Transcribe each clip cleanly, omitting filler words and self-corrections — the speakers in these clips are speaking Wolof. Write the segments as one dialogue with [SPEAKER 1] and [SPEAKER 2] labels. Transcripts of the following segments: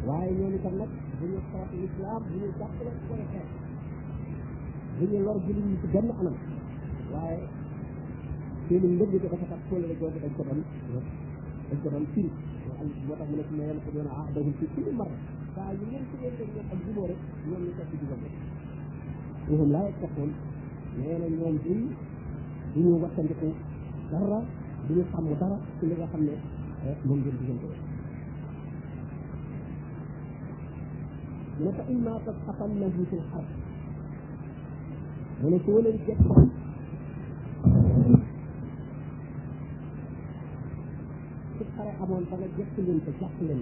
[SPEAKER 1] waaye ñoom itam nag bu ñu xeex lislaam bu ñu jàppale koy xeex bu ñu lor jullit ñi ci benn anam waaye seeni mbëgg ko dafa tax kóllëre googu dañ ko doon firi moo tax mu ne ci ne ko doon ahdahum fi kulli marra saa yu leen ci leen ñoom ak jubóo rek ñoom ñu topp ci jubóo waxum laa yattaqoon nee na ñoom du ñu wattandiku dara du ñu sàmm dara ci li nga xam ne moom ngeen diggante mu ne fa imma tasqafannahu fil harb mu ne soo leen jot ci xare amoon ba nga jëkk leen te jàpp leen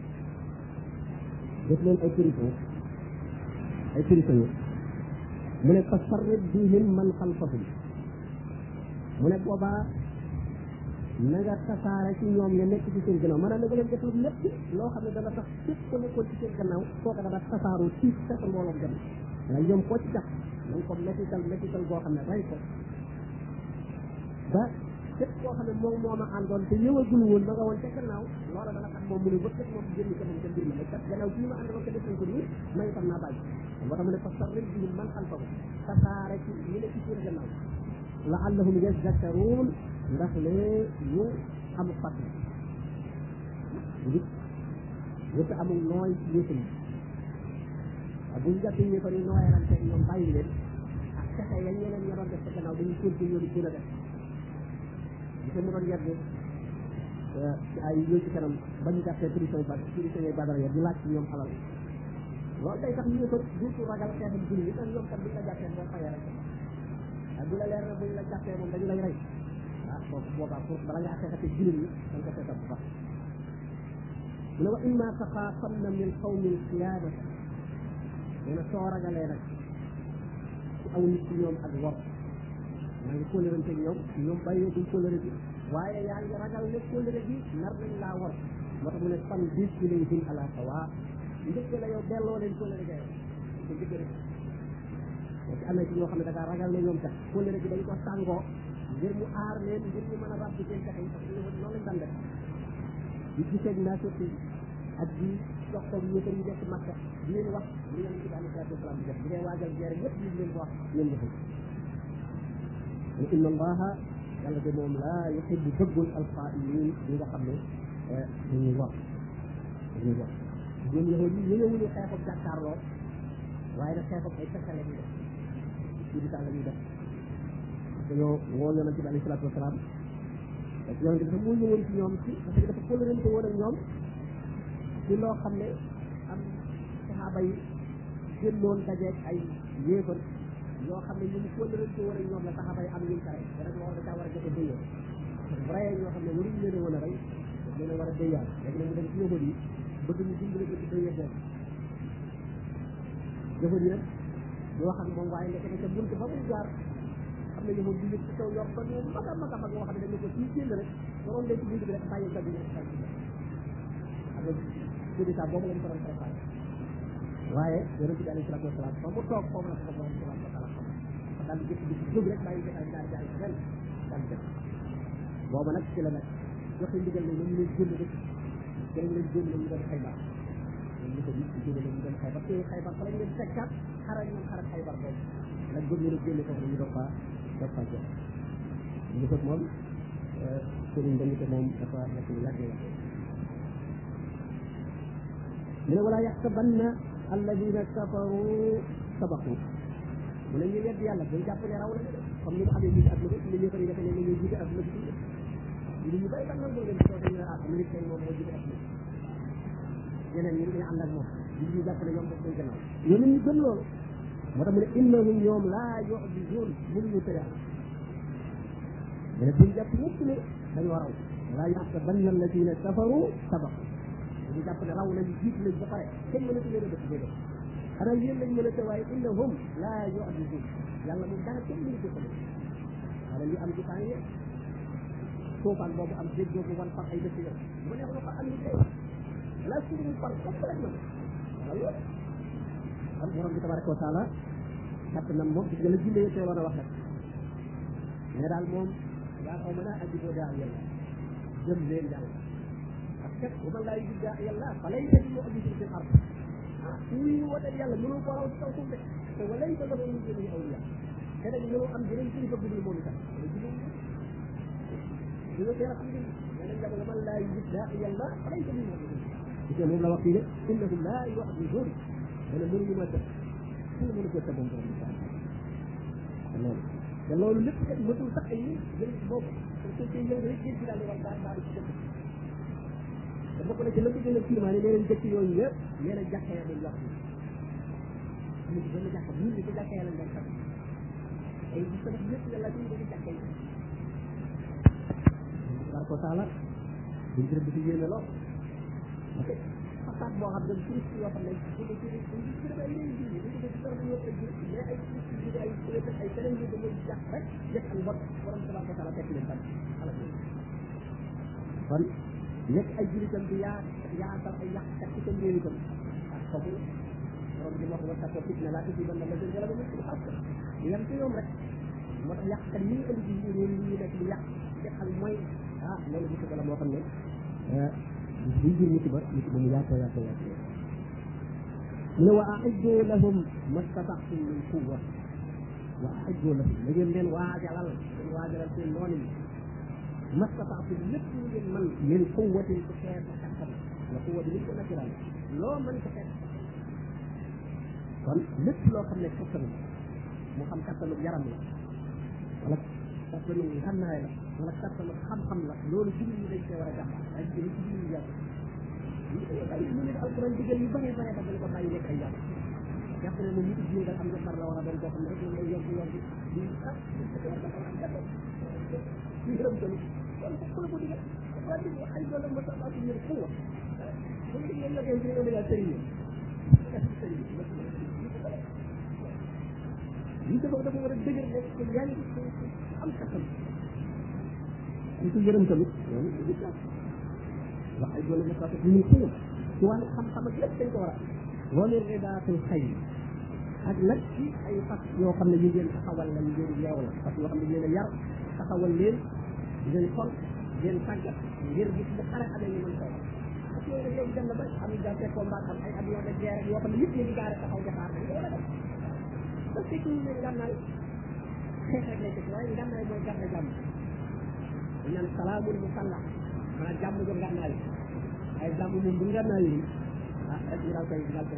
[SPEAKER 1] def leen ay prisonniers mu ne fa sarrib bihim man xalfahum mu ne boobaa na nga tasaare ci ñoom nga nekk ci seen gannaaw maanaam na nga leen def lu lépp loo xam ne dana tax képp ku nekkoon ci seen gannaaw kooka dana tasaaroo ci fekk mbooloom dem nga ñoom koo ci jàpp na nga ko mettital boo xam ne rey ko ba képp koo xam ne moom moo ma àndoon te ñëwagul woon ba nga woon ca gannaaw loola dana tax moom mu ne wëkkat moom génn ko moom ca mbir ma kat gannaaw bii ma àndoon ko def nañ ko nii ma itam naa bàyyi moo tax mu ne fa sarrib bihim man xalfahum tasaare ci ñu ne ci seen gannaaw la'allahum yazakkaruun ndax lee ñu am fàttali yëpp amul nooy ci yëpp yi bu ñu jàppee yëppar yi nooyalante ñoom bàyyi leen ak fexe ya ñeneen ña doon def sa gannaaw dañuy continuer di gën a def gis mu doon yedd ci ay yooyu ci kanam ba ñu jàppee prisonniers Badar ya di laaj ci ñoom alal loolu day tax ñu ko duutu ragal xeexam julli yi ndax ñoom kat buñ la jàppee boo fayee rek ak bu la leer na buñ la jàppee moom dañu lay rey kooku boobaa pour bala ngaa xeexate jullit ñi da nga ko seetal bu baax mu ne wa imma taxaafanna min qawmin xiyaanatan nee na soo ragalee nag ci aw nit ci ñoom ak wor maa ngi kóllërante ñoom bàyyee duñ kóllëre bi waaye yaa ngi ragal ne kóllëre bi nar nañ laa wor moo tax mu ne fan bis ilayhim ala sawa njëkk la yow delloo leen kóllëre ga yow ko njëkk rek moo ci amee ci ñoo xam ne da ngaa ragal ne ñoom kat kóllëre bi dañ ko sàngoo ngir mu aar leen ngir ñu mën a ràbb seen pexe yi parce que noonu lañ daan def di gisee naa surtout ak di jox ko yéefar yi nekk Makka di leen wax li leen ci alayhi salaatu wasalaam di def bu dee waajal guerre yëpp ñu leen ko wax ñoom ñu inna allaha yàlla de moom laa yuhibbu bëggul alxaa'iniin ñi nga xam ne dañuy wax ñoom yahud yi ñëwuñu xeexu jàkkaarloo waaye nag xeexu ay pexe la ñuy def ci bitaa la ñuy def dañoo woo yonent bi alayhi salaatu wasalaam parce que yonent bi dafa moo ñëwoon ci ñoom ci parce que dafa kóllërante woon ak ñoom ci loo xam ne am saxaaba yi génnoon dajeeg ay yéefar yoo xam ne ñu mu kóllërante woon ak ñoom la saxaaba yi am ñu kare te nag loolu da caa war a joxe déyoo bu reyee ñoo xam ne waruñu leen a woon a rey daf leen a war a déyaal léegi nag mu dem ci yahud yi bëgg ñu dimbali ko ci déyee boobu yahud yi nag di wax ak moom waaye nekk na ca bunt ba muy jaar xam ne yahud bi yëg ci kaw yor ba ñu mag a mag a mag yoo xam ne dañ ne ko fii génn rek waroon leen ci bunt bi rek bàyyi gab yi nekk xam nga sédita boobu lañ ko doon préparé waaye yonent bi alayhi salaatu wasalaam fa mu toog foofu la ko borom subhanahu wa taala xam daal di jëkk di jóg rek bàyyi jotaay daal di ay ren daal di def booba nag ci la nag joxe ndigal ne ñu leen génn rek dañ leen génn ñu doon Xaybar ñu ko gis ci génn ñu doon Xaybar te Xaybar fa lañ leen fekkaat xaral ñoom xaral Xaybar boobu nag bëgg ñu génn foofu ñu doon faa jox ñu ko moom sëriñ dañu ko moom dafa nekk lu yàgg la mu ne wala yaxsabanna alladina kafaru sabaqu mu ne ñu wedd yàlla day jàpp ne raw nañu de comme ni mu amee jiite adduna bi ñu ñëfari defe ne ñu jiite adduna bi ñu bëri tam nag leen soo dañu ne minute tey moom moo jiite adduna ñeneen ñi ñu ànd ak moom ñu jàpp ne ñoom daf koy gannaaw ñoom ñu gën loolu moo tax mu ne innahum ñoom laa yu'jizuun mënuñu tëra mu ne buñ jàpp ñëpp ne dañoo raw wala yaxsabanna alladina kafaru sabaqu ñu jàpp ne raw nañu jiit lañ ba pare kenn mënatu leen a def déedéet xanaa yéen lañ mën a teewaay innahum laa yu'jizuun yàlla moom dara kenn mënu ko xale wala li am ci temps yi tuufaan boobu am dégg boobu wan par ay dëkk yo mu neex na fa am ni tey la suñu par complètement wala loolu am borom bi tabaraka wa taala jàpp na moom gis nga la jinde teeloon a wax rek mais daal moom yaa xaw ma naa ajiboo daa yàlla jëm leen yàlla parce que bu man laa yujib daa yàlla fa lay leen moo indi ci xar ñuy woote yàlla mënoo ko raw ci kaw suuf de te walay ko dafa ñu jëlee awliya te nag mënoo am beneen kilifa bu dul moom itam di nga teel a xam ne yeneen jamono man laa yujib daa yàlla falay ko ñu moom moom la wax fii de innahum laa yu'jizuun dana mënuñu ma tëb suñu mënu ko tëb moom borom bi loolu te loolu lépp kat mëtul sax ay nit jël ci boobu parce que yow rek gis daal di war daal di ci dëkk te bokk na ci la ko gën a firmaane nee nañ dëkk yooyu yëpp nee na jàkka ya dañ wax ni ñu benn jàkka bu ñu ko jàkka ya lañ doon xam ay gis tamit yëpp yàlla ñu dañu jàkka yi war ko taala buñ ci rëbb ci yéene lool ok façade boo xam ne touriste yoo xam ne bu ko ci ay réew yi ñu ko ci dara dañoo ay mais ay touriste ay keneen ñu dañuy jàpp rek def ak mbot borom tabaraka wa taala fekk leen tam ala kon nekk ay jullitam di yaatal ay yàqkat ci seen réew itam ak foofu borom bi wax wa ko fitna laa tusiibanna llaziina zalamu minkum xaassa yam ci ñoom rek moo tax yàqkat yi indi ci réew yi ñu nekk di yàq def ak mooy loolu musiba la moo xam ne liy jur musiba mu yaatoo mu ne wa a'iddu lahum mastata'tum min quwwa wa a'iddu lahum la ngeen leen waajalal seen noonu yi mastata'tum lépp lu ngeen man min quwwatin ci xeex ak kattan la quwwa bi li ko naturel loo mën ko xeex kon lépp loo xam ne kattan mu xam kattanu yaram la wala kattanu xannaay la wala kattanu xam-xam la loolu jullit ñi dañ koy war a jàmbaar ay jëli ci jullit ñi yàlla ñu ne alquran digal yu bare bare ba dañ ko bàyyi nekk ay yàlla jàpp ne moom nit ñi daal am nga far la war a doon koo xam ne rek moom lay yomb di di gërëm tamit kon ku la ko digal waa di ay doole ma sa baatu ñëw xuwa bu ñu ngeen la gën ci ñu la sëriñ yi dafa war a dëgër nekk ko yaa ngi am kattan ñu ko yërëm tamit wax ay doole ma sa baatu ñu xuwa ci wàllu xam-xam ak lépp dañ ko war a loolu ridaatul xayr ak nag ci ay fas yoo xam ne ñu ngeen taxawal la ñu ngeen yeew la fas yoo xam ne ñu leen yar taxawal leen di leen xol di leen tàggat ngir gis bu xare amee ñu mën ko parce que yooyu nag léegi dem na ba am gàncax combat am ay avion de guerre yoo xam ne yëpp ñu ngi gaare taxaw jaxaar dañ ko war a def parce que kii ne ngànnaay xeex rek lay teg waaye ngànnaay mooy garde jàmm dañ naan salaamul musallah maanaam jàmm jo ngànnaay ay jàmm moom bu ngànnaay yi rek ñu daal koy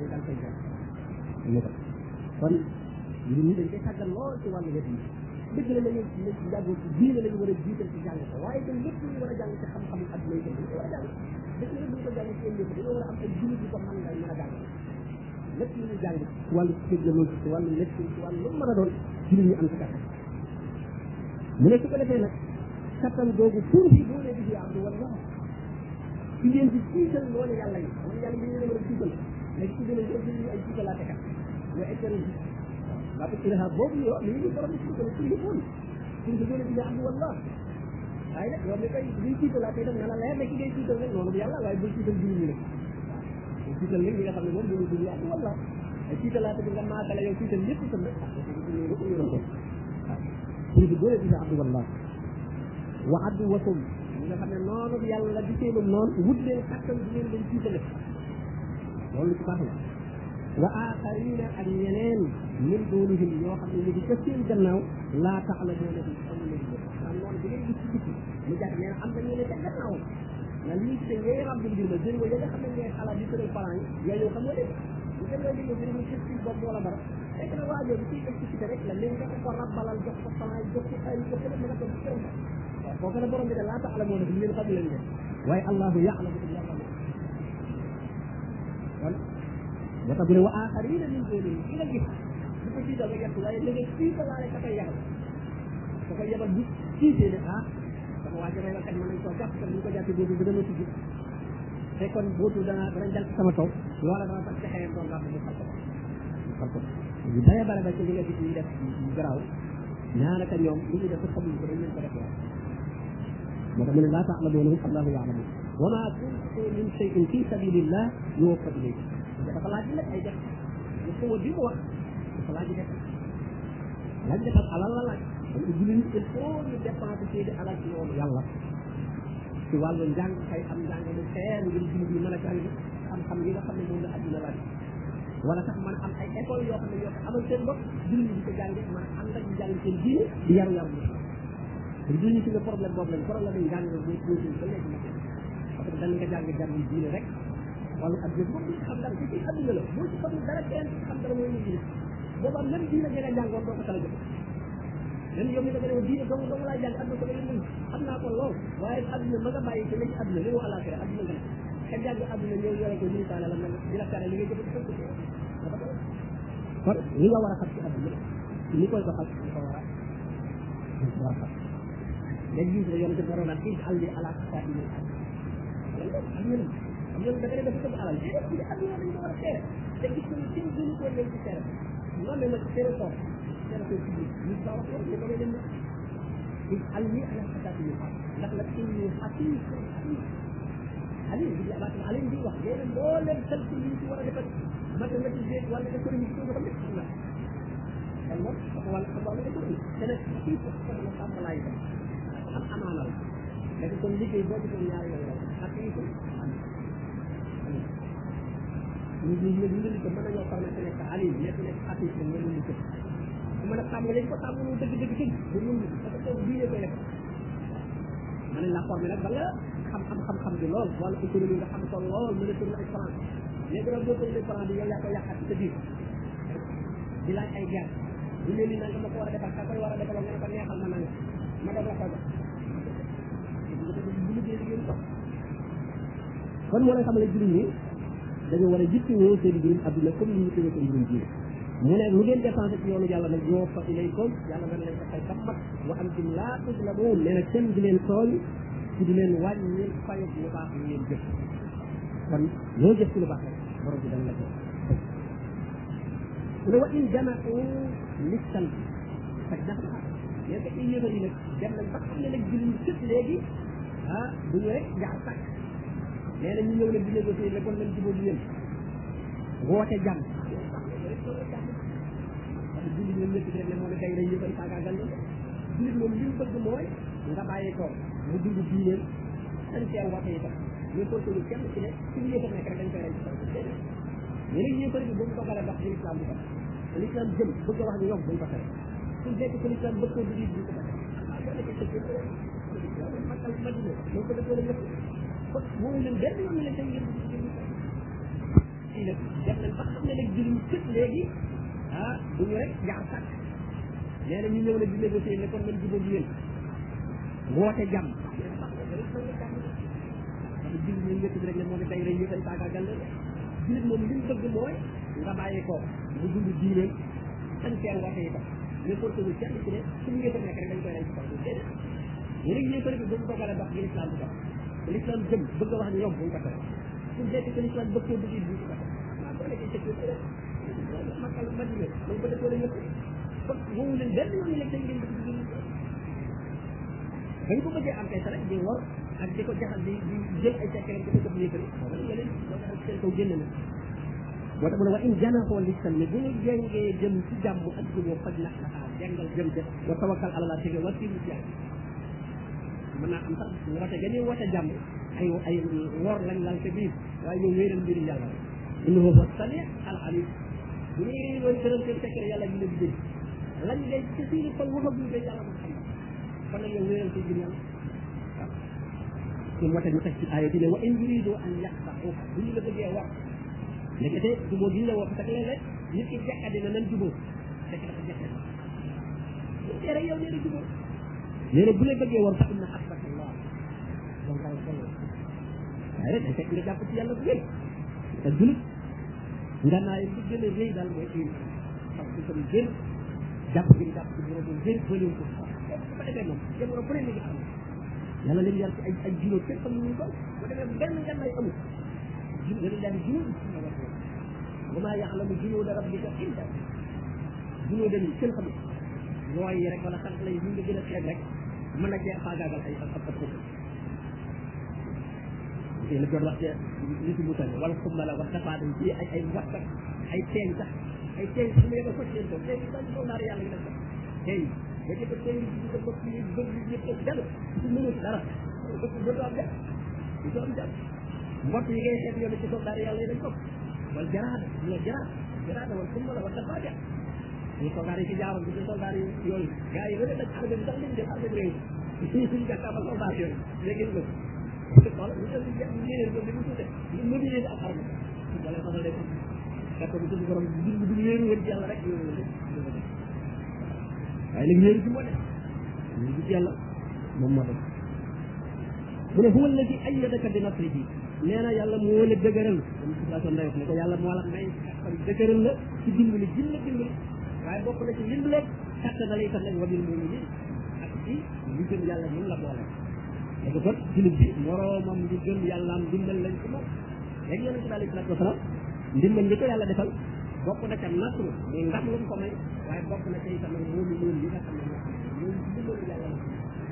[SPEAKER 1] jar kon ñun ñi dañ koy tàggal lool ci wàllu wet yi dëgg la nañu jàngoo ci diine lañu war a jiital ci jàng ko waaye itam lépp ñu war a jàng ci xam-xamu adduna yi dañ ko war a jàng dëgg la duñ ko jàng ci yéen ñëpp dañoo war a am ay jullit yu ko mën nga mën a jàng lépp lu ñu jàng ci wàllu technologie ci wàllu médecine ci wàllu lu mën a doon jullit ñu am ci kattan mu ne su ko defee nag kattan googu pour bi boo nee di abdu wala ci ngeen di jiital loolu yàlla yi man yàlla yi ñu leen war a jiital léegi ci gën a ñu ay jiitalaate kat mooy écologie la ko ilaha boobu yo li ñu borom ci ko ci li bon ci ko gëna di am wala ay nak yow mi kay li ci la tay dem na la leer ne ki ngay ci rek nonu yalla way bu ci dal julli ni rek ci dal li nga xamne mom du du am wala ay ci la tay nga ma dala yow ci dal lepp tam rek ci ko gëna di am wala wa adu wakum nga xamne nonu yalla di seen non wut leen xattal di leen dañ ci dal lolu ci baax la wa aaxarina ak ñeneen min duunihim ñoo xam ne ñu ngi ca seen gannaaw laa ta'lamuuna bi amul leen bët am noonu bi ngeen gis ci biti mu jàpp nee na am na ñeneen ca gannaaw na lii te ngay rabbi mbir ma jël ya nga xam ne ngay xalaat di tëral parents yi yaa yow xam nga de bu demee li nga jëriñu ci ci bopp wala dara fekk na waajoo bi ciy expliqué rek la léegi nga ko rabbalal jox ko parents yi jox ko ay jox ko lépp nga ko ci këram waaw kooku ne borom bi de laa ta'lamuuna bi ngeen xam leen de waaye allahu ya'lamu bi yàlla kon moo tax bu ne wa aaxarina min duunihim ki nga gis bu ko jiital nga gerte waaye léegi tiitalaale ka koy yabal ka koy yabal bu tiitee ne sama waa jëmee kat mën nañ koo jàpp kat bu ñu ko jàppee boobu bi dama tijj te kon bootu dana jàll sama kaw loola dana tax texee doon ràbb mu xal ko yu bare bare ba ci li nga gis ñu def garaaw ñaanaka ñoom li ñu def ko xamuñ ko dañ leen ko def waaw moo tax mu ne laa ta'lamuuna allahu ya'lamu wa maa tunfiqu min shay'in fi sabilillah yuwaffa ilaykum dafa laaj nag ay def lu ko di mu wax dafa laaj def ak alal la laaj donc jullit ñi il faut ñu dépenser seen alal ci yoonu yàlla ci wàllu njàng kay am njàng mu feer ngir jullit ñi mën a jàng xam-xam yi nga xam ne moom la adduna laaj wala sax mën a am ay école yoo xam ne ñoo ko amal seen bopp jullit ñi di ko jànge mën a ànd ak jàng seen diine di yaru yaru te jullit ñi ci ne problème boobu lañ problème yi jàng boo tuuti ba léegi nag parce que dañ nga jàng diine rek wala ak jëf moom xam dara ci adduna la boo ci xamul dara kenn xam dara mooy ñu booba même diine nga jàngoon doo ko tala jëf même yow mi da nga ne diine dong dong laa jàng adduna ko la ñu xam naa ko lool waaye adduna ma nga bàyyi ci la ci adduna li mu alaxira adduna nga ka jàng adduna ñëw yore ko ñu taala la mel di la tere li ngay jëf kon li nga war a xam ci adduna li koy doxal li ko war a xam léegi gis nga yonente borom naan in alli ala xasaini am ñoom da nga def ko alal ci adduna dañ ko war a tere te gis nga kenn gënu ko leen ci tere non mais ma ci tere ko ci ñu ko wax ko ko leen in alli ala xasaini ndax la inni hakim ali bi la baat ali di wax leen moo leen xel ci li ci war a defal mathématique wala économie ko xam ne kan mo wala ko wala ko te nag ci ko la xam lay am amaana la léegi kon liggéey boo ci doon ñaari yoon ak yi ko ñu ko mën nañoo permettre nekk ali nekk xatis ko ñu ñu ko mën a xam lañ ko xam ñu dëgg dëgg dëgg bu ñu parce que diine koy def man la formé nag ba nga xam bi lool wala économie nga xam ko lool mën a tourner ay franc léegi nag boo tourner franc bi yow yaa ko yàqat ci sa biir di laaj ay guerre bu leen ni nanga ma ko war a defal ka koy war a defal nga ne ko neexal ma nanga ma dem la ko jox bu liggéey liggéey ko kon moo lay xamale jullit ñi dañu war a jittewoo seen mbirum adduna comme ni ñu tëjee seen mbirum diine mu ne lu ngeen dépensé ci yoonu yàlla nag ñoo fa ilaykum yàlla dana leen ko fay ba mat wa antum laa tuzlamuun nee na kenn di leen tooñ ci di leen wàññi fayut lu baax lu ngeen jëf kon loo jëf ci lu baax rek borom bi dana la ko mu ne wa in jama'u listan faj na xam yéen ko ci yéefar yi nag dem nañ ba xam ne nag jullit ñi sëpp léegi du ñu rek jaar sàkk nee na ñu ñëw nag di négocier ne kon nañ jubóo di yéen woote jàmm parce que jullit ñoom ñëpp rek ne moo ne day rey yëfar yi faagaagal na jullit moom li mu bëgg mooy nga bàyyi ko mu dund diineen dañ cee woote yi tax mais ko tolu kenn ci ne suñu yëfar nekk rek dañ koy rey ci kaw ñeneen yëfar bi bu mu dogalee dox ci l'islam bu ko l'islam jëm bëgg a wax ni yomb buñ ko tere suñ fekk ko l'islam bëgg ko dugg bu ko tere makal madina mo ko defee ñëpp ko mo leen benn yoon leen tay ngeen ci nag def nañ ba xam ne nag jullit sëpp léegi duñu rek jaar sàkk nee na ñu ñëw nag di négocier ne kon nañ jubóo bi yéen woote jàmm jullit ñoom ñëpp rek ne moo ne day rey yëfal faagaagal la jullit moom li mu bëgg mooy nga bàyyi ko mu dund diine dañ cee woote yi tax mais pour que ñu kenn ci ne suñu yëfal nekk rek dañ koy rey ci kaw déedéet yéen yëfal bi bu mu dogalee dox l'islam bu dox l'islam jëm bëgg a wax ni ñoom buñ ko tere suñ fekk que l'islam bëgg koo dugg buñ ko tere boo nekkee sécurité rek makal madina dañ ko defoo la ñëpp kon moomu leen benn yoon leen tey ngeen bëgg dugg dañ ko bëggee am kay sa rek di wor ak di ko jaxal di jël ay secret di ko jox yëkkati yeneen moo tax seen kaw génn na moo tax mu ne wa in janaxoo listan ne bu ñu jengee jëm ci jàmm ak juboo faj na xaxaa jengal jëm jëm wa tawakkal ala la tege war siru ci mën naa am sax woote ga ñuy woote jàmm ay wor lañ lal ca biir waaye ñoom wéeral mbiri yàlla innahu huwa sami al alim bu ñuy réunion tëral seen secret yàlla ñu leen di dégg lañ ngay ci suñu xol waxaguñ ko yàlla moo xam kon nag yow wéeral ci mbir yàlla ثم وتنتهي الآية دي وإن يريدوا أن يخطئوك بني لا بغي wax nekete jubo gi la wax tak lele nit ki jaxade na nan jubo tek dafa jaxade tere yow neena jubo neena bu la bëggee war fa inna hasbakallah donc ay xel ay da tek nga japp ci yalla bu yey te julit nga naay bu gëna reey dal moy ci parce que comme gën japp gi japp ci borom gën bëliw ko ba defé mom jamono bu ne ni am yàlla leen yar ci ay juróom kenn xam ñu ko bu demee benn ngànnaay amul juróom daal di juróom wa maa ya'lamu junuuda rabbika illa juróom dañu kenn xam nooy yi rek wala sant lay ñu nga gën a xeeb rek mën na cee faagaagal ay ab ko te la doon wax ci li ci mutal wala xumma la wax tafaada ci ay waxta ay teeñ sax ay teeñ su ma yëg ko ci ko te dañ ko naar yàlla ngi def teeñ ba ci ko teeñ ci ko bokk yi bëgg ñëpp dal ci mënu dara ko do am def do am def mbott yi ngay xeet yow ci ko daar yàlla dañ ko wal jaraada la jaraada jaraata wala summa la wala faaja ñu soldaar yi ci jaaroon bi ci soldaar yi yooyu gars yi rek armée bi sax lañ jël armée bi réew suñu jàkkaarloo soldaar yooyu léegi ñu xool ñu jël ñeneen ñoom dañu tuute ñu mobiliser ak armée wala xamal leen fekk bu suñu borom du wéeru wër ci yàlla rek waaye nag wéeru ci moo def ñu gis yàlla moom moo def mu ne huwa alladi ayyadaka bi nasrihi nee na yàlla moo la dëgëral comme situation ndey wax ne ko yàlla moo la may kattan dëgëral la ci dimbali jim la dimbali waaye bokk na ci dimbali kattan da lay tax nag wabil muminin ak ci li gëm yàlla ñun la boole léegi kon jullit bi moroomam li gëm yàllaam dimbal lañ ko moom léegi yonente bi alayhi salaatu wasalaam ndimbal ñi ko yàlla defal bokk na ca nasru muy ndam lu mu ko may waaye bokk na ca itam muminin yi nga xam ne ñoom dimbalu yàlla la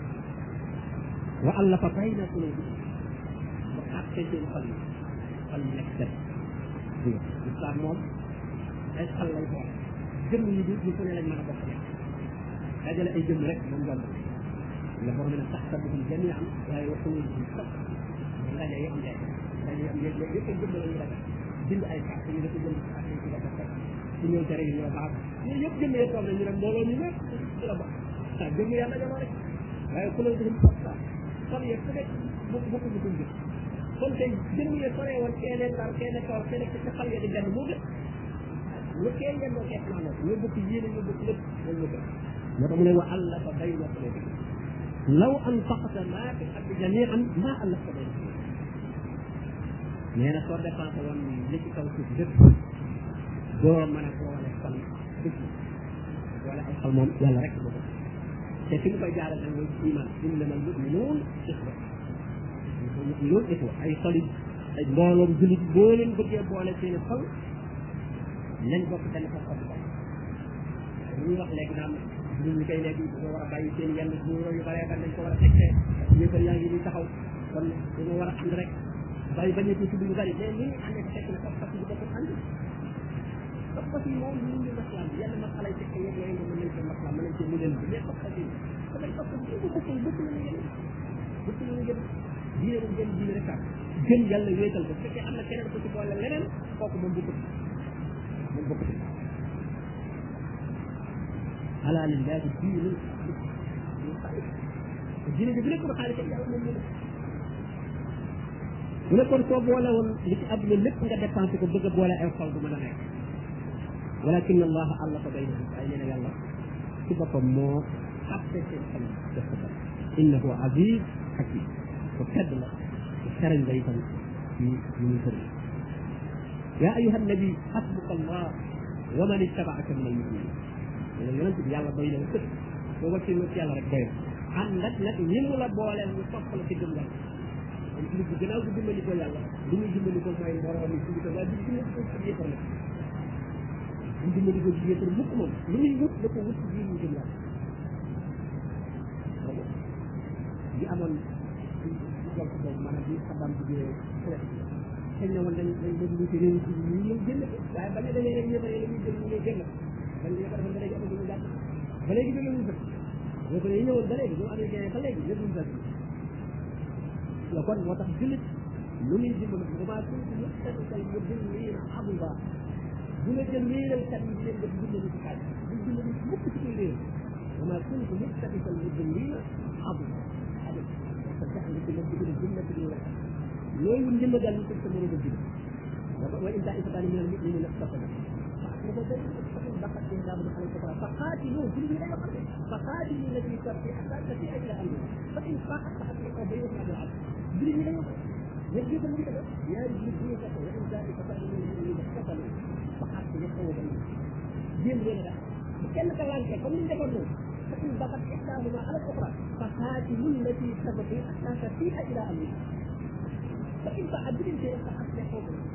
[SPEAKER 1] wa allafa bayna qulubi ba àtte seen xol yi nekk set islam moom ay xol lay boole jëmm yi di ñu ko ne lañ mën a bokk nekk dajale ay jëmm rek moom jomb la borom ne taxsabuhum jami'an waaye wa qulubuhum shatta ndaje yi am jaay dañuy am yëpp yëpp ay jëmm la ñuy daje bind ay carte ñu dafa jënd carte yi ci la bokk ci ñëw tere yi ñu baax ñu yëpp jëmm yi toog na ñu ne mbooloo ñu nekk ci la bokk sa jëmm yàlla dajaloo rek waaye qulubuhum shatta xol yi ku nekk bokk ñu koy jëf kon tey jëmm yi soree woon kenn ndar kenn kaw kenn ci xal ya di benn moo gën lu kenn ngeen doo kees maanaam ñoo bokk yéene ñoo bokk lépp loolu moo gën moo tax mu ne wa allafa bayna qulubi law anfaqta maa fi ardi jami'an maa allafta bayna qulubi nee na soo dépensé woon li ci kaw suuf lépp doo mën a boole xol dëgg boole ay xol moom yàlla rek moo ko te fi mu koy jaaral nag mooy iman innamal mu'minuun ixwa mu'minuun ixwa ay xol ay mbooloom jullit boo leen bëggee boole seeni xol nañ bokk benn fa xol ko ñuy wax léegi naan ñun ñi koy léegi dañoo war a bàyyi seen yenn buuro yu bare ba nañ ko war a fekkee yëppal yaa ngi nii taxaw kon dañoo war a ànd rek bàyyi bañ a tudd lu bari mais ni ñu àndee fekk na pas-pas yi bokk ànd pas-pas yi moom ñu ngi maslam yenn masala yi fekk yëpp yooyu mën nañ ko maslam mën nañ ko mudel bi mais pas-pas yi dafay pas-pas yi bu bokkul bëkk la ñu gën bëkk la ñu gën diine dañ gën diine rek gën yàlla wéetal ko fekkee am na keneen ko ci boole leneen kooku moom bokkut moom bokkut ala lillahi diinul xaalis diine bi bu nekkoon xaalis ak yàlla moom mu ne kon soo boole woon li ci àdduna lépp nga dépensé ko bëgg a boole ay xol du mën a nekk walakin allaha allafa baynahum ay nee na yàlla ci boppam moo xatte seen xol def ko def innahu aziz hakim ko tedd la ko xarañ la itam ci ñu muy tëdd yaa ayuha nabi xasbuka allah wa man ittabaaka min almuminin ne la yonent bi yàlla doy na la sëkk soo wàccee ci yàlla rek doy ànd ak nag ñi mu la booleel ñu topp la ci gëm yàlla kon ci bu gënaaw bu dimbali ko yàlla li muy dimbali ko mooy mbooloo mi ci waaye du dimbali ko ci yëppar la du dimbali ko ci yëppar mukk moom lu muy wut da ko wut ci biir ñu gëm yàlla li amoon jol ko boobu maanaam bi xabaam bi jëlee xëy na woon dañ bëgg lu ci réew ci ñu ñëw génn ko waaye bañ a demee rek yëppar la muy jël ñu ñëw génn dañ ñu ko defoon ba léegi amatuñu ñu gàtt ba léegi jóge wuñ fa yëppar yi ñëwoon ba léegi ñu américain ba léegi yëpp wuñ fa la kon moo tax jullit lu muy dimbali bu maa kuntu muttabi'al mudillina aduda bu la jël wéeral kat yi di leen def dimbali ci xaaj bu dimbali mukk ci koy réew bu maa kuntu muttabi'al mudillina aduda abad parce que andi ci la digg jumlati ñu wax loolu ndimbal daal ñu ko sa mëna digg wa in ta'ifatan min al-mu'minina iqtatalu فقاتلوا في فقاتلوا التي تبقي حتى تفيء الى امره فان فاقت فاطلقوا بينهم على العدل بلي لا يوقف يجب ان يكتب يا رجل فيك وان ذلك فقاتلوا الذين اقتتلوا فحتى بينهم جيم ولا كان كلام كم من دبروا فان بقت احداهما على الاخرى فقاتلوا التي تبقي حتى تفيء الى امره فان فعدل شيء فاصلحوا بينهم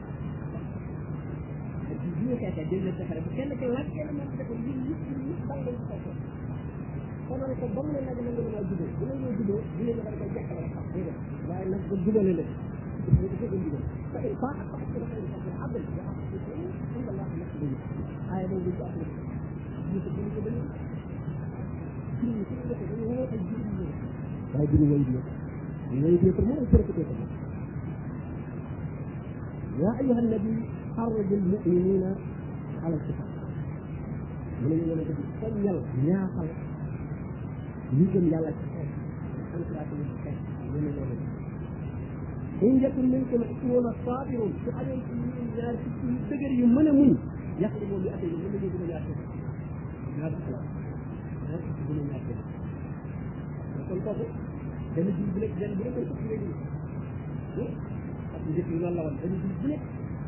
[SPEAKER 1] ñu xéta jël na taxara bu kenn ko laaj kenn mo ko ñu ñu dal lañ ko ko konal ko bam na nag nga mëna jubé bu ñu jubé di leen da ko jaxal rek waye nak bu jubale la ñu ko ko jubé fa il fa ak ko ko ko abdul ya inda allah nakbu ay mo ñu ko ñu ko ñu ko dañu ñu ko ko dañu wone ay jubé waye du way di pour mo ko ko يا أيها النبي حرض المؤمنين alal ci mu ne ñu wala def soññal ñaaxal ñu gëm yàlla ci xeex encouragé ñu ci xeex ñu ne loolu in yakun minkum ishruna sabirun su amee ci ñun ñaar ci yu dëgër yu mën a muñ yàqli moom yu atte yi mën nañu gën a ñaar ñaar ñaar ci gën a ñaar kon kooku benn jiw bu nekk benn bu nekk ko léegi parce que njëkk yi loolu la woon benn jiw bu nekk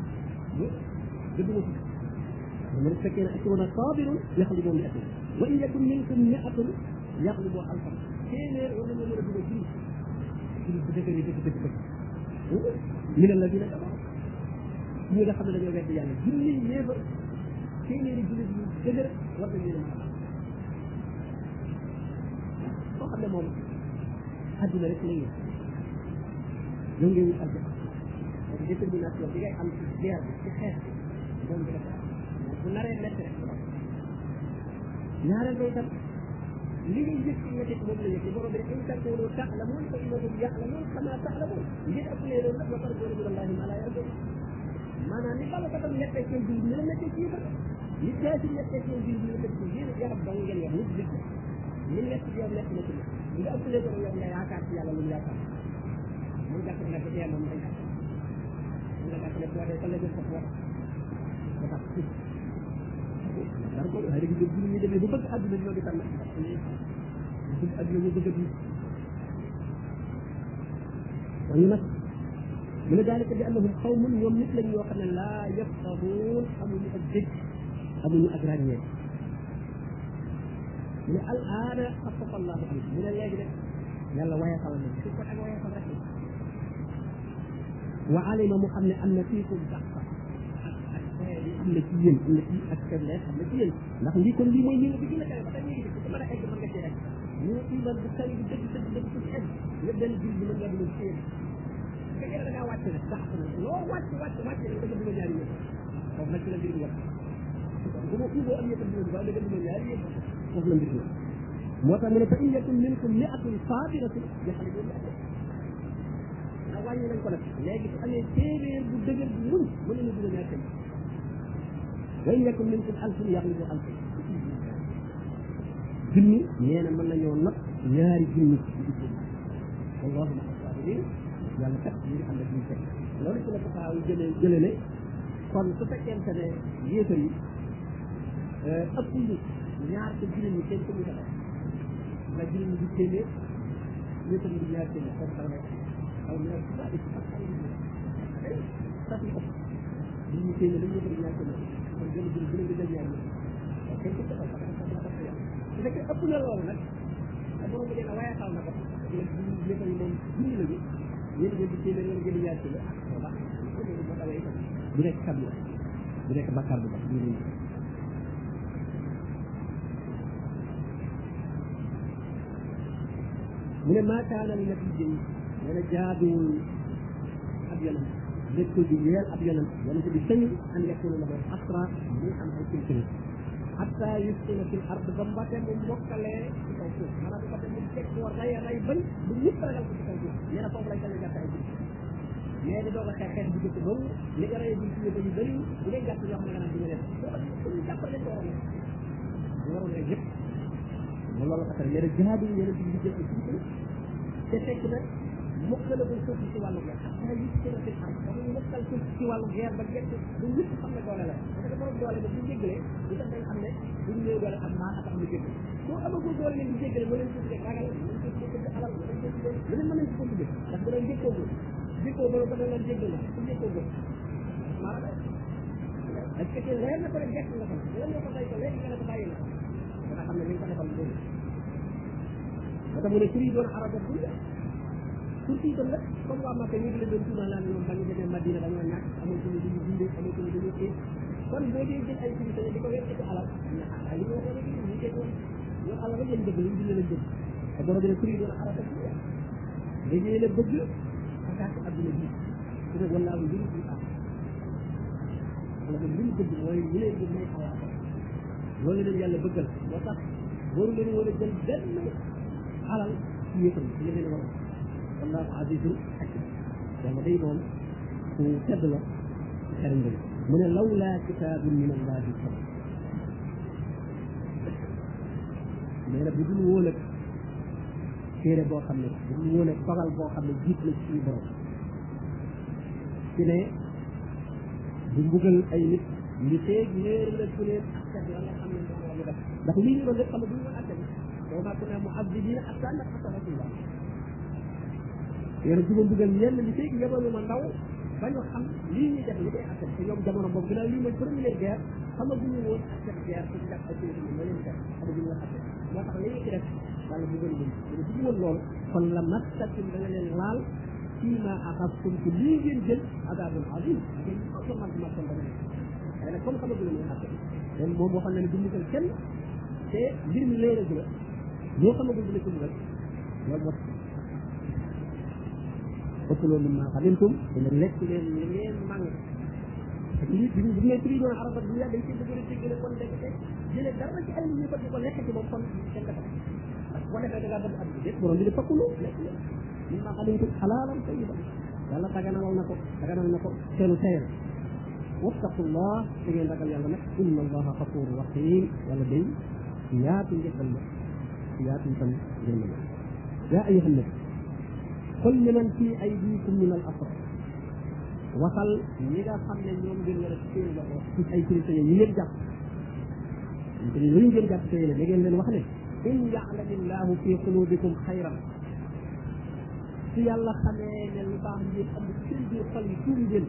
[SPEAKER 1] dëgg ma ci fekkee ne ishruna sabirun yàqli moom yu atte wa in yakun minkum mi'atun yàqli boo alfan téeméer war nañoo mën a dugal jiw jiw bu dëgër yi dëgg min alladina kafaru ñi nga xam ne dañoo wedd yàlla junni yéefa téeméeri jullit yu dëgër war nañ leen a koo xam ne moom àdduna rek la yéen ñoo ngi wut àdduna donc détermination bi ngay am ci guerre bi ci xeex bi moom bi dafa bu naree métti rek ñaareel ba itam li ngay yëg ci métti moom la yëg borom bi in takunu ta'lamun fa innahum ya'lamun kama ta'lamun ngir ëpp lee loolu nag ba pare doon wallahi ma la yarda maanaam ni bala ko tam nekkee seen biir ñu la nekkee ci yëpp li jaasi nekkee seen biir ñu la nekkee ci biir yaram dong ngeen wax nit nit li nekk ci yow nekk na ci nga ëpp lee ko yow nga yaakaar ci yàlla lu mu yaakaar mun jàpp ne ko dee moom day jàpp mun nga jàpp ne boo dee ka la jël ko wax dafa ci dara ko xëy na bu ñu demee ba bëgg àdduna ñoo di tànn bëgg àdduna ñu bëgg a dund waaye nag mu ne daalika bi annahum qawmun ñoom nit lañ yoo xam ne laa yafqahuun amuñu ak dégg amuñu ak ràññee mu ne al aana xafafa allahu ankum mu ne léegi rek yàlla wayafal na su ko ak wayafal rek wa alima mu xam ne am na fiikum daqfa am na ci yéen am na ci ak faiblesse am na ci yéen ndax lii kon lii mooy ñi nga bi gën a kawe ba tey ñi ngi ko mën a egg mën nga ci egg ñu iman bu kaw bi dëgg dëgg dëgg ci egg nga benn jur bi mën nga dugg ci yéen fekkee da ngaa wàcc nag sax loo wàcc wàcc wàcc da nga dugg ñaari yéen foofu nag ci la mbir bi wax bu ma uboo am yëpp dugg ba da nga dugg ñaari yéen foofu la mbir bi moo tax mu ne fa in yakun minkum mi'atun sabiratun yaxlibu wàññi nañ ko nag léegi su amee téeméer bu dëgër bu muñ mën nañu dugg ñaar tey wa in yakun minkum alfun yaxlibu alfan junni nee na mën nañoo nag ñaari junni wallahu ma sabirin yàlla kat ñu ngi ànd ak ñu fekk loolu ci la ko faaw jëlee ne kon su fekkente ne yéefar yi ëpp ñu ñaar te jullit ñi seen commune la jullit ñi di téeméer yéefar yi di ñaar téeméer kon xaw na aw ñaar ci baax ci sax yi ëpp jullit ñi téeméer lañ yéefar yi ñaar téeméer kon gën a gën a jël ñaar ñi kenn ku taxaw su fekkee ëpp na loolu nag te borom bi dina wayaxal na ko yéefar yi moom junni lañu yéen ngeen di téeméer wala ngeen di ñaar téeméer ah baax moo tawee itam bu nekk kam la bu nekk bakkaar bu baax mu ne maa kaana li nabiyyi nee na jaaduwul ab yonent nekkul di yeel ab yonent bi sañu an yakuna lahu asra muy am ay culture hatta yuskina fil ard ba mbate mu mokkalee ci kaw suuf maanaam mbate mu teg ko ray bañ bu ñëpp ragal ko ci kaw suuf nee na foofu lay tane gàtt ay mais di doog a xeex bu jëkk boobu li nga rey bi ci yëpp yu bëri bu dee gàtt yoo xam ne nga naan di nga def ñu jàppale ko waroon rek yëpp loolu la tax nee na jihaad yi nee na di jël ay culture te fekk nag mokkalagul suuf ci wàllu guerre hatta yuskina fil ard ba mu mokkal suuf ci wàllu guerre ba gerte bu ñëpp xam ne doole la parce que borom doole ba bu jéggalee di tax dañ xam ne buñ néew doole am maa tax ñu jéggal soo amagul doole leen di jéggale moo leen tuddee ragal moo leen tuddee alal moo leen tuddee lu leen mën nañ ko tuddee ndax da doon jékkoo ba da leen jéggal na su jékkoo ba maa la est ce que leer na ko rek gerte nga xam leen nga ko day ko léegi nga ne ko bàyyi na dana xam ne li nga ko defal loolu moo tax mu ne suri doon araba dunya surtout itam nag comme waa Màkka ñu ngi leen doon tuumal naan ñoom ba ñu demee Madina dañoo ñàkk amul suñu duñu dundee amul suñu duñu xiif kon boo dee jël ay solution di ko wér ci alal ay ñu waxoon léegi ñu teg woon ñoom alal rek lañ bëgg lañ dund lañ bëgg te borom bi ne suri doon araba dunya léegi yéen a bëgg akaati adduna bi su ne wallaahu mbiri bi am wala ko liñ bëgg mooy ñu leen bëgg mooy alal loolu leen yàlla bëggal moo tax waru leen war a jël benn alal ci yëppal li leen war wallahu azizun hakim yàlla day moom ku tedd la xeram bëri mu ne lawlaa kitaabun min allahi sabaq nee na bu dul woon ak téere boo xam ne bu dul woon ak dogal boo xam ne jiit la ci borom ci ne du mbugal ay nit li feeg léer la ku leen askan la nga xam ne moom la ñu def ndax lii ñu doon lépp xam ne duñu woon askan boo maa ko ne mu abdina askan nag askan rasulullah yéen duma mbugal ñenn li feeg yebalu ma ndaw ba ñu xam lii ñuy def li koy askan te ñoom jamono boobu ginnaaw lii mooy première guerre xamaguñu woon askan guerre ci jàpp ay téere yi ma leen def xamaguñu la askan moo tax li ñu ci def wala mbugal leen dina bu woon loolu kon la mastakim da nga leen laal fii ma axastum ci lii ngeen jël adabun azim ngeen ko man ma kon dana waaye nag comme xamaguñu ne askan leen moom waxoon na ne du mbugal kenn te mbir mi léeragu la loo xamagul dina ko mbugal loolu moo ëppaloo min maa xadintum dina lekk leen li ngeen màng lii bi bu ne tri doon arafat bu yàgg dañ ci bëgg a dégg kon dégg te jëlee dara ci ay ñu ko di ko lekk ci moom kon kenn dafa parce que boo defee da ngaa bëgg at bi déet borom bi di fakkulu lekk leen min maa xadintum xalaalan tayiban yàlla daganal na ko seenu tayal wattaqullah da ngeen ragal yàlla nag inna allaha xafuru rahim yàlla day yaatu njëkkal la yaatu itam jënd la yaa ayyuhan nabi qul liman fi aydikum min al asra waxal ñi nga xam ne ñoom ngeen war a téye la ko ci ay prisonniers yi ngeen jàpp te ñu ngeen jàpp téye la da ngeen leen wax ne in ya'lamillahu fi qulubikum xayran su yàlla xamee ne lu baax ngeen am seen biir xol yi tuuri ngeen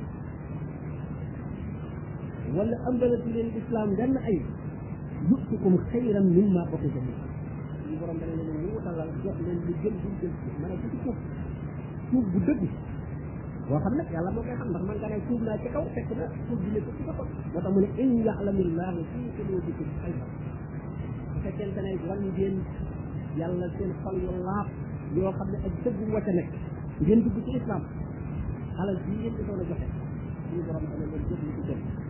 [SPEAKER 1] wala ambalati leen islam gann ay yu'tikum xayran mimma ukhidha minkum ñu borom dana leen ñu wutalal jox leen lu gën bu gën mën a ci suuf bu dëgg boo xam nag yàlla moo koy xam ndax man nga ne suuf naa ci kaw fekk na suuf bi nekk ci kaw moo tax mu ne in ya'lamillahu fi qulubikum xayran bu fekkente ne wan ngeen yàlla seen xol yu laab yoo xam ne ak dëgg moo ca nekk ngeen dugg ci islam alal bii ngeen di doon a joxe suñu borom dana leen jëf lu ci gën